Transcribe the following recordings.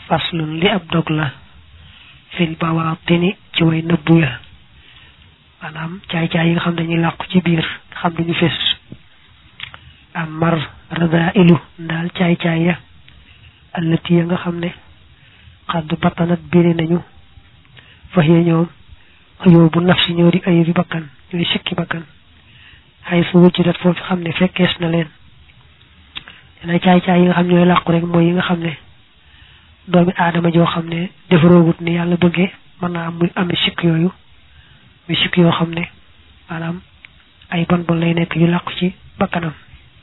faslun li ab dog la fil bawaatini ci way nëbbu ya maanaam caay-caay yi nga xam dañuy làqu ci biir xam duñu fés am mar radailu ndaal caay-caay ya allati ya nga xam ne xadd battanat biiri nañu fax ya ñoom xëyoo bu nafsi ñoo di ayu bi bakkan ñooy sikki bakkan xay su wujjudat foofu xam ne fekkees na leen dina caay-caay yi nga xam ñooy làqu rek mooy yi nga xam ne doomi aadama joo xam ne defaroogut ni yàlla bëggee mën naa am muy amee sikk yooyu muy sikk yoo xam ne maanaam ay bon bon lay nekk yu làqu ci bakkanam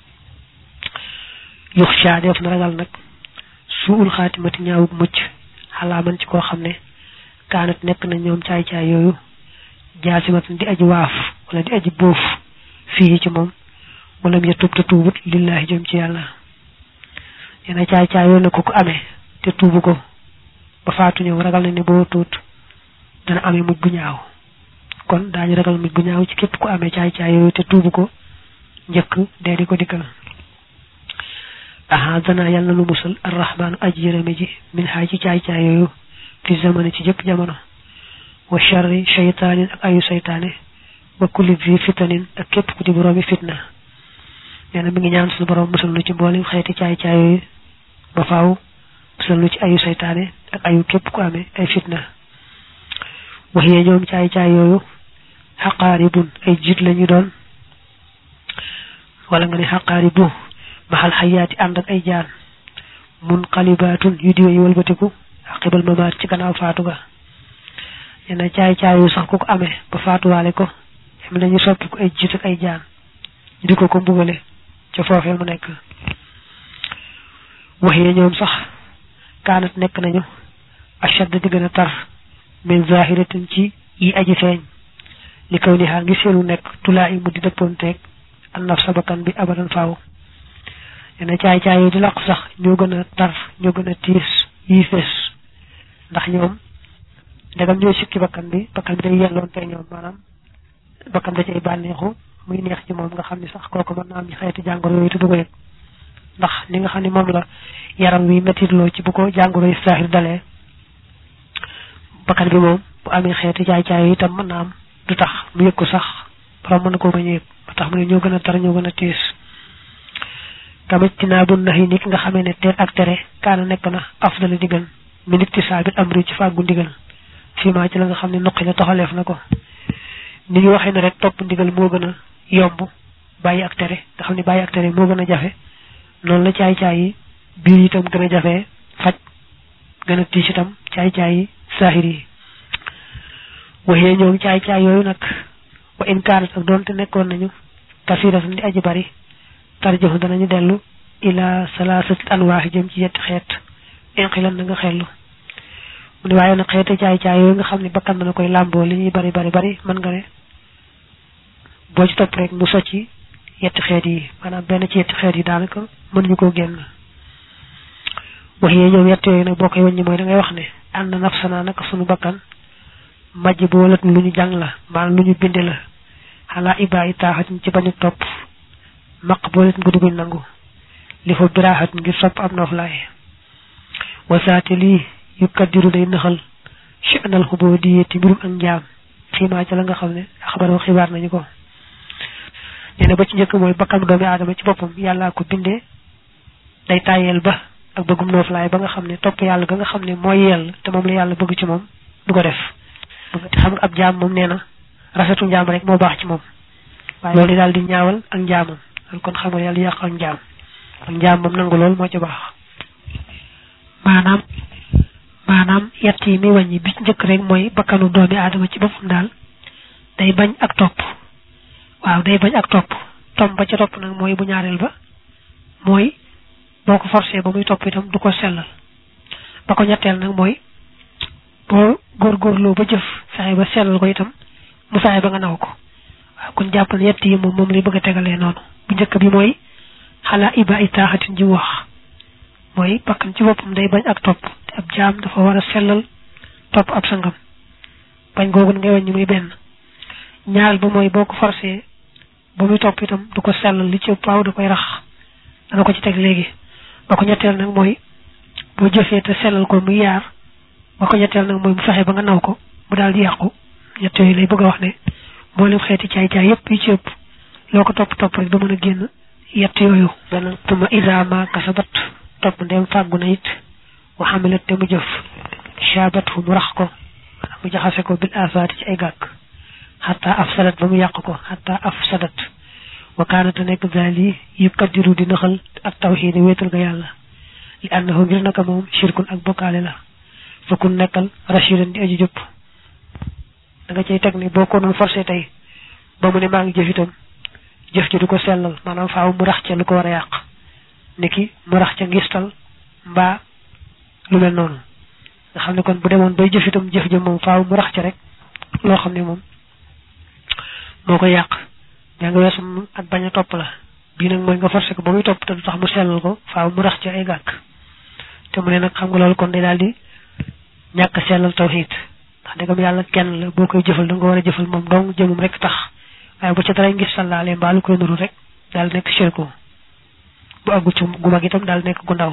yux sha def na ragal nag suul xaatimati ñaawug mucc xalaaman ci koo xam ne kaanat nekk na ñoom caay-caay yooyu jaasimatan di aji waaf wala di aji bóof fii ci moom wala mu ya tub te tuubut lillahi jëm ci yàlla yena caay-caay yooyu na ko amee te tuubu ko ba faatu ñëw ragal na ne boo tuut dana amee mujj bu ñaaw kon daañu ragal mujj bu ñaaw ci képp ku amee caay-caay yooyu te tuubu ko njëkk dee di ko dikkal aha dana yàlla lu musal arrahmaanu aji yërëme ji min xaay ci caay-caay yooyu fi zamani ci jëpp jamono wa sharri shaytaanin ak ayu saytaane wa kulli fi fitanin ak képp ku di boroomi fitna nee na mi ngi ñaan suñu borom musal lu ci mboolem xeeti caay-caay yooyu ba faaw musal lu ci ayu saytaane ak ayu képp ku amee ay fitna wax yee ñoom caay-caay yooyu xaqaaribun ay jiit lañu doon wala nga ne xaqaaribu maxal xayaati ànd ak ay jaan mun xalibaatun yu diwe yu walbatiku xibal mamaat ci gannaaw faatu ga yenn caay-caay yu sax ku ko amee ba faatuwaale ko xam nañu soppi ko ay jiit ak ay jaan ñu di ko mbugale ca foofee mu nekk wax yee ñoom sax kaanat nekk nañu ashad di gën a tar min zahiratin ci yi aji feeñ li kaw ni xaa ngi seenu nekk tulaa i mu di dëppoonteeg an naf sa bakkan bi abadan faaw yenn caay-caay yi di làqu sax ñoo gën a tar ñoo gën a tiis yi fees ndax ñoom ndegam ñooy sikki bakkan bi day yelloon te ñoom maanaam bakkan da cay bànneexu muy neex ci moom nga xam ne sax kooku mën naa am xeeti jàngoro yooyu te du ko yëg ndax li nga xam ne moom la yaram wi mettitloo ci bu ko jàngoro yi saaxir dalee bakkan bi moom bu amee xeeti caay-caay yi itam mën naa am du tax mu yëg ko sax borom mën na koo bañ a yëg ba tax mu ne ñoo gën a tar ñoo gën a tiis tamit dinaa bu nax yi nit nga xamee ne teer ak tere kaana nekk na afdala di gën mi nit ci saabit amri ci fàggu ndigal fii maa ci la nga xam ne nuqi la toxaleef na ko ni ñu waxee ne rek topp ndigal moo gën a yomb bàyyi ak tere nga xam ne bàyyi ak tere moo gën a jafe noonu la caay-caay yi biir itam gën a jafe faj gën a tiis itam caay-caay yi saaxir yi waxee ñoom caay-caay yooyu nag wa in kaanat ak doonte nekkoon nañu kasiratan di aji bari tarjoxu danañu dellu ila salaasati anwaax jëm ci yetti xeet inqilan na nga xellu mu ne waaye nag xeeti caay-caay yooyu nga xam ne bakkan na koy làmboo li ñuy bari mën nga ne boo ci topp rek mu socci yetti xeet yi maanaam benn ci yetti xeet yi daanaka mënuñu koo génn wax yee ñoom yett yooyu nag boo koy wàññi mooy da ngay wax ne ànd na nafsana naka sunu bakkan majj boolat lu ñu jàng la maanaam lu ñu binde la xalaa ibaa yi taaxatin ci bañu topp maq boolat nga dugguñ nangu li fa biraaxat ngir sopp am nooflaay wasaate lii yu kaddiru day naxal chnal xuboo di yetti mbirum ak njaam xiimaa ca la nga xam ne xabaroo xibaar nañu ko nee na ba ci njëkk mooy bakkan doomi aadama ci boppam yàllaa ko bindee day tàyyeel ba ak bëggum nooflaay ba nga xam ne topp yàlla ga nga xam ne mooy yell te moom la yàlla bëgg ci moom du ko def te xam nga ab jaam moom nee na rafetu njaam rek moo baax ci moom waaye loolu daal di ñaawal ak njaamam kon xam nga yàlla yàq ak njaam moom nangu lool moo ci baax maanaam yett yi muy wàññi bi ci njëkk rek mooy bakkanu doomi aadama ci boppam daal day bañ ak topp waaw day bañ ak topp ba ca topp nag mooy bu ñaareel ba mooy boo ko forcé ba muy topp itam du ko sellal ba ko ñetteel nag mooy boo góorgóorloo ba jëf fexe ba sellal ko itam mu fexe ba nga naw ko waaw kon jàppal yett yi moom lay bëgg a tegalee noonu bu njëkk bi mooy xalaa iba i taaxatin ji wax mooy bakkan ci boppam day bañ ak topp te ab jaam dafa war a sellal topp ab sangam bañ googu ngay wàññi muy benn ñaareel ba mooy boo ko forcé ba muy topp itam du ko sellal li ci paaw da koy rax dana ko ci teg léegi ba ko ñetteel nag mooy bo jëfé te selal ko mu yaar ba ko ñettel nak moy bu fexé ba nga naw ko bu dal di yaqku ñett yoy lay bëgg wax né bo lim xéti caay yépp yi ci ëpp loko top rek do mëna génn yett yoyu ben tuma idama kasabat top ndem fagu na it wa hamilat te mu jëf shabatu mu rax ko mu jaxase ko bil afat ci ay gak hatta afsadat ba mu yaq ko hatta afsadat wa kanat nek zali yukadiru di naxal ak tawhid wétal ga yalla li annahu ngir naka mom shirkun ak bokale la fakun nekkal rashidan di aji jup da nga cey tek ni boko non forcé tay ba mu ne ma ngi jëf itam jëf ci duko sellal manam faaw mu rax ci lu ko wara yaq niki mu rax ci ngistal mba lu mel non nga xamne kon bu demone bay jëf itam jëf jëm mom faaw mu rax ci rek lo xamne mom moko yaq ya nga wessum ak baña top la bi nak moy nga forcé ko ba muy top te tax mu sellal ko faaw mu rax ci ay gak te mu ne nak xam nga lol kon day daldi ñak sellal tawhid ndax degam yalla kenn la bokay jëfal da nga wara jëfal mom dong jëmum rek tax ay bu ci dara ngi sallalé balu koy nuru rek dal nek shirku bu agu ci gu mag itam dal nek gu ndaw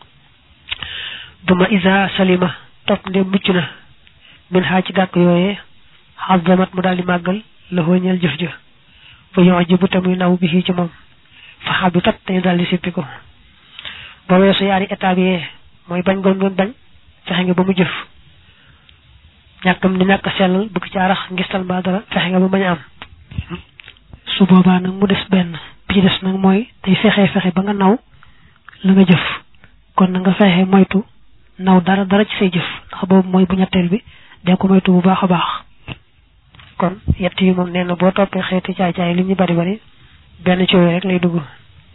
duma iza salima top ndé muccuna min ha ci gak yoyé hazamat mu dal di magal la hoñal jëf jëf fa yujibu tamuy naw bi ci mom fa habitat tay dal di sipiko ba wessu yari état bi moy bañ gon gon bañ fexé nga ba mu jëf ñakam ni ñak sellal bu ci arax ngistal ba dara fexé nga ba bañ am su boba nak mu dess ben bi dess nak moy tay fexé ba nga naw la nga jëf kon nga fexé moytu naw dara ci say jëf ndax bobu moy bu ñettel bi de ko moytu bu baaxa baax kon yett yi mom neena bo topé xéti caay li ñu bari ben ci rek lay dugg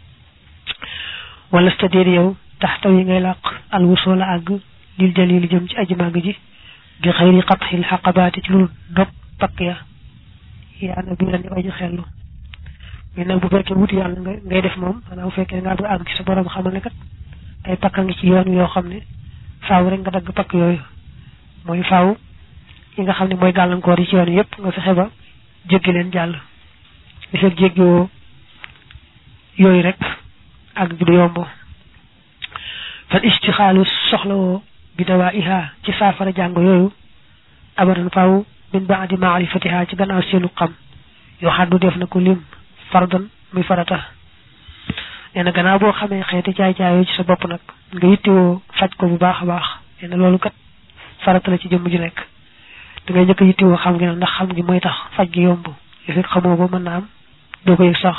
wala stadir yow taxtaw yi ngay laq al wusula ag lil jalil jëm ci aji mag ji bi khayri qathil haqabati ci lu dok pak ya na bi lañu aji xellu mi nak bu fekke wuti yalla ngay def mom ana bu fekke nga ag ci sa borom xamal ne kat ay pakka ngi ci yoon yo xamne faaw rek nga dag pak yoy moy faaw yi nga xamne moy galankor yi ci yoon yépp nga fexé ba jéggi len jall li fek jéggi yoy rek ak du yombo fal istikhalu soxlawo bi dawaiha ci safara jang yoyu abadan faaw min ba'di ma'rifatiha ci gannaaw seenu xam yo xaddu def na ko lim fardan muy farata neena gannaaw bo xamé xéti caay ci sa bop nak nga yittiwo fajj ko bu baaxa baax neena lolu kat farata la ci jëm ju nek da ngay jëk yittiwo xam nga ndax xam gi moy tax fajj gi yomb li xamoo ba mën na am do ko yek sax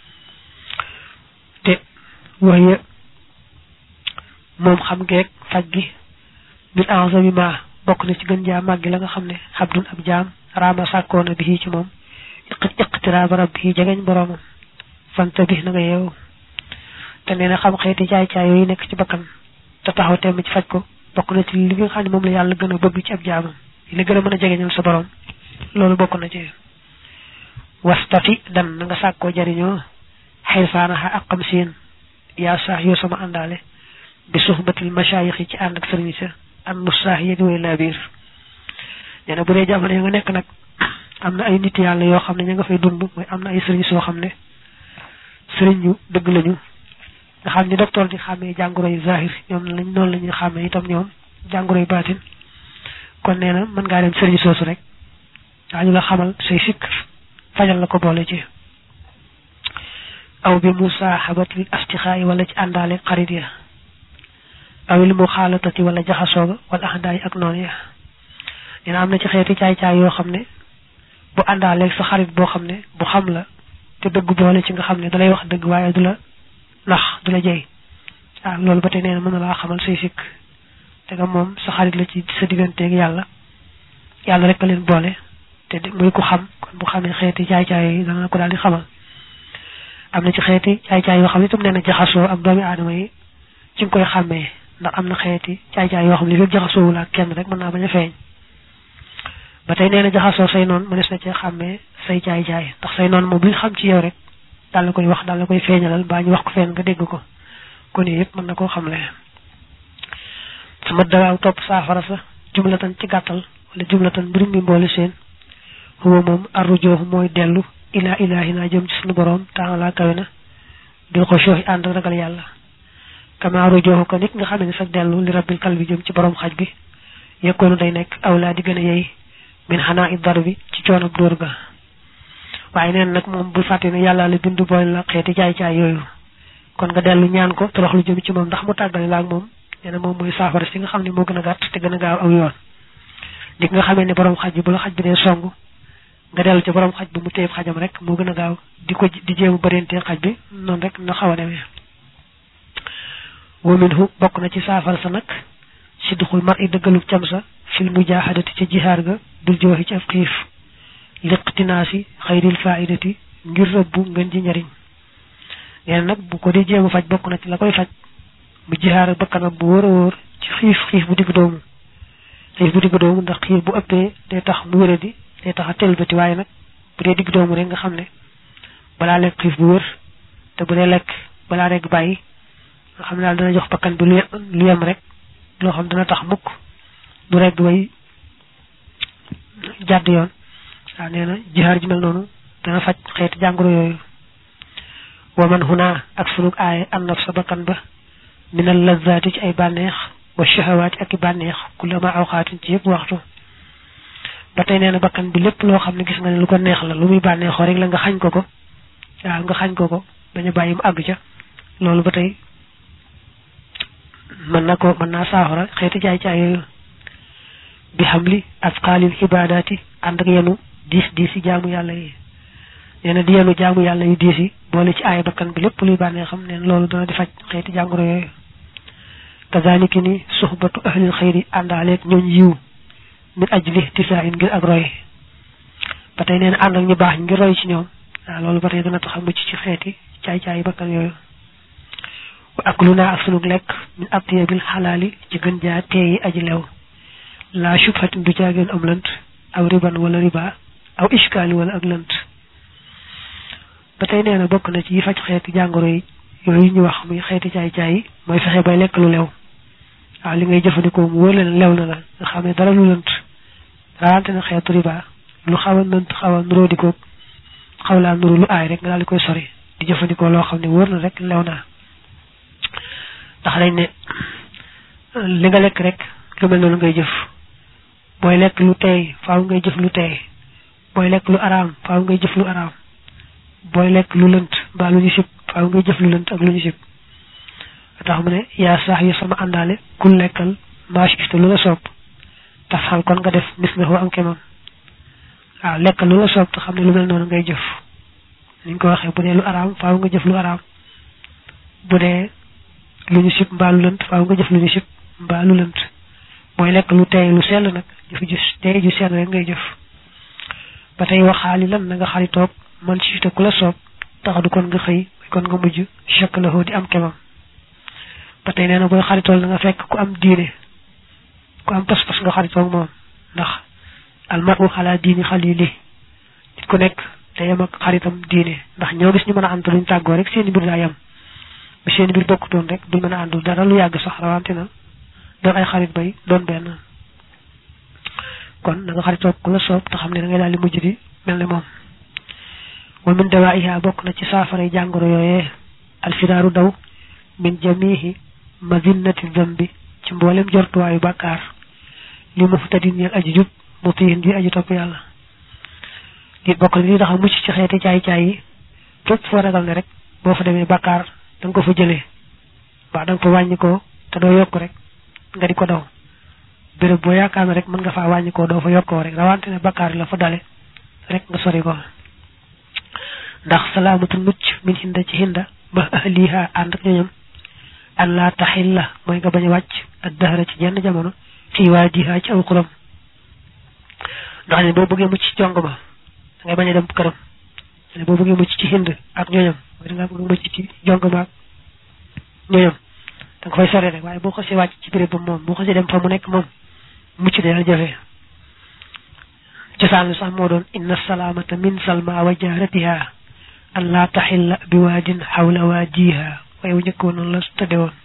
te waye mom xam ngeek fajj gi bil a'zami ma bokk na ci gën ja maggi la nga xamne abdul ab jam rama sakona bi ci mom iqtirab rabbi jagañ borom fanta bi na nga yew te neena xam xéti caay yoy nek ci bakkan te taxaw tém ci fajj ko bokk na ci li nga xamne mom la yalla gëna bëgg ci ab jaamam li gëna mëna jagañal sa borom lolu bokk na ci wastafi dan nga sakko jariño haysana ha aqam seen ya sah yo sama andale bi suhbatil mashayikh ci and ak serigne sa am musah yi way labir neena bu re jamono nga nek nak amna ay nit yalla yo xamne nga fay dund moy amna ay serigne so xamne serigne yu deug lañu nga xamni docteur di xamé jangoro yu zahir ñom lañ non lañu xamé itam ñom jangoro yu batin kon neena man nga dem serigne sosu rek dañu la xamal say sik fajal la ko bolé ci aw bi musahabatil astikha'i wala ci andale xarit ya awil mukhalatati wala jaxasoga wala ahdaay ak non ya dina amna ci xéeti caay yo xamne bu andale sa xarit bo xamne bu xam la te deug boole ci nga xamne dalay wax deug waye dula nax dula jey lolu batay neena mëna la xamal say sik te nga mom sa xarit la ci sa digënté ak yalla rek leen boole te muy ko xam kon bu xamé xéeti caay dana ko daldi xamal amna ci xéeti caay yo xamne tum neena jaxaso ak doomi adama yi ci koy xamé ndax amna xéeti caay yo xamne li jaxaso wala kenn rek mëna baña feñ batay neena jaxaso say non mënes na ci xamé say caay tax say non mo bu xam ci yow rek dal la koy wax dal la koy feñalal bañu wax ko fen nga dégg ko kon yépp mën na ko xamlé sama dawa top safara sa jumlatan ci gattal wala jumlatan birum bi mbolé seen huwa mom arrujuh moy delu ila ilahina jëm ci sunu borom taala kawena bil khushu'i and ragal yalla kama rujuhu ko nit nga xamé ni sax delu li rabbil kalbi jëm ci borom xaj bi yakonu day nek awla di gëna yey min hana'i darbi ci ciono dor ga waye neen nak mom bu faté ne yalla la bindu boy la xéti jaay jaay yoyu kon nga delu ñaan ko torox lu jëm ci mom ndax mu tagal la ak mom neena mom moy safara ci nga xamni mo gëna gatt te gëna gaaw aw yoon dik nga xamé ni borom xaj bi bu la xaj bi dé songu nga delu ci borom xaj bi mu téy xajam rek mo gëna gaaw diko di jému barenté xaj bi non rek na xawa démé wa minhu bokk na ci safar sa nak sidkhul mar'i deugalu ciam sa fil mujahadati ci jihar ga dul joxi ci afqif liqtinasi khairil fa'idati ngir rabbu ngeen ci ñariñ yen nak bu ko di jëm faj bokk na ci la koy faj mu jihar bakkanam bu wor ci xif bu dig doomu ndax xif bu uppé day tax mu wéré di day tax telbati waye nak bu dé dig doomu rek nga xamné bala lek xif bu wër te bu dé lek bala rek bayyi nga xam dal dana jox bakkan bi lu yam rek lo xam dana tax mukk du rek way jadd yoon sa neena jihar ji mel nonu dana faj xéet jangoro yoyu wa man huna ak suluk ay an nafsa bakkan ba min al lazzati ci ay banex wa shahawati ak banex kulama awqatin ci yep waxtu batay neena bakkan bi lepp lo xamni gis nga ne lu ko neex la lu muy banexo rek la nga xagn ko nga xagn ko baña bayyi mu ag ca lolu batay man na sahara xéti jaay jaay bi hamli asqalil ibadati and ak yenu dis jaamu yalla yi yena di yenu jaamu yalla yu disi bolé ci ay bakkan bi lepp luy bané xam né lolu dana di faj xéti jangoro yoy kazalika ni suhbatu ahli alkhair andalek ñoñ yiw min ajli tisa'in ngir ak roy batay neena and ak ñu bax ngir roy ci ñoom lolu batay dana tax mu ci xéti caay bakkan yoy wa akluna asluk lek min atyabil halali ci gën ja teyi aji lew la shubhatin du jagen am lant aw riban wala riba aw iskali wala ak lant batay neena bokk na ci faj xéti jangoro yi yoy ñu wax muy xéti caay moy fexé bay lek lu lew li ngay jëfandiko mu wër leen lew na la nga xamé dara lu lant rawante na xétu riba lu xawa lant xawa nuro diko xawla nuro lu ay rek nga dal koy sori di jëfandiko lo xamné wër na rek lew na tax lañ ne li nga lek rek lu mel non ngay jëf boy lek lu tay faaw ngay jëf lu tay boy lek lu aram faaw ngay jëf lu aram boy lek lu leunt ba lu ñu sip faaw ngay jëf lu leunt ak lu ñu sip tax mu ne ya sax yi sama andale ku lekkal maash ci lu la sopp tafal kon nga def mislahu am kemam lekkal lu la sopp te xamne lu mel non ngay jëf niñ ko waxe bu dé lu aram faaw nga jëf lu aram bu dé luñu sip mbalu leunt faaw nga jëf luñu sip mbalu leunt moy lek lu tay lu sel nak jëf ju tay ju sel rek ngay jëf batay waxali lan nga xali tok man ci te kula sop taxadu kon nga xey kon nga mujj shaklahu di am kemam batay neena boy xali tol nga fekk ku am diine ku am pass nga xali tok mom ndax al mar'u ala dini khalili nit ku nek tay am ak xaritam diine ndax ñoo gis ñu mëna antu luñ taggo rek seen bir la yam bi seen bir bokku ton rek du mëna andu dara lu yag sax rawantina do ay xarit bay don ben kon nga xaritok ku la sopp ta xamne da ngay dal mujj di melni mom wa min dawaiha bok na ci safara jangoro yoyé al firaru daw min jamihi mazinnati dhanbi ci mbolem jortu wayu bakkar li muftadin yal ajjub mutihin di aji top yalla di bok li tax mucc ci xéti caay yi fépp fo ragal ne rek bo fa démé bakkar dang ko fa jëlé ba dang fa wañi ko te do yok rek nga di ko daw bërëb bo yaakaar rek mën nga fa wañi ko do fa yokko rek rawante ne bakkar la fa dalé rek nga sori ko ndax salamatu mucc min hinda ci hinda ba ahliha and ak ñam alla tahilla moy nga baña wacc ak dahra ci jenn jamono ci wajiha ci aw xuram ndax ne bo bëggé mucc ci jong ba ngay baña dem kërëm ne bo bëggé mucc ci hind ak ñoñam nga bëgg mucc ci jong ba ñoñam da nga fay sore rek waye bo xasse wacc ci bëre ba mom bo xasse dem fa mu nek mom mucc dina jafé ci sanu sax mo doon inna salamata min salma wa jaratiha alla tahilla biwadin hawla wajiha way ñëkko non la tade won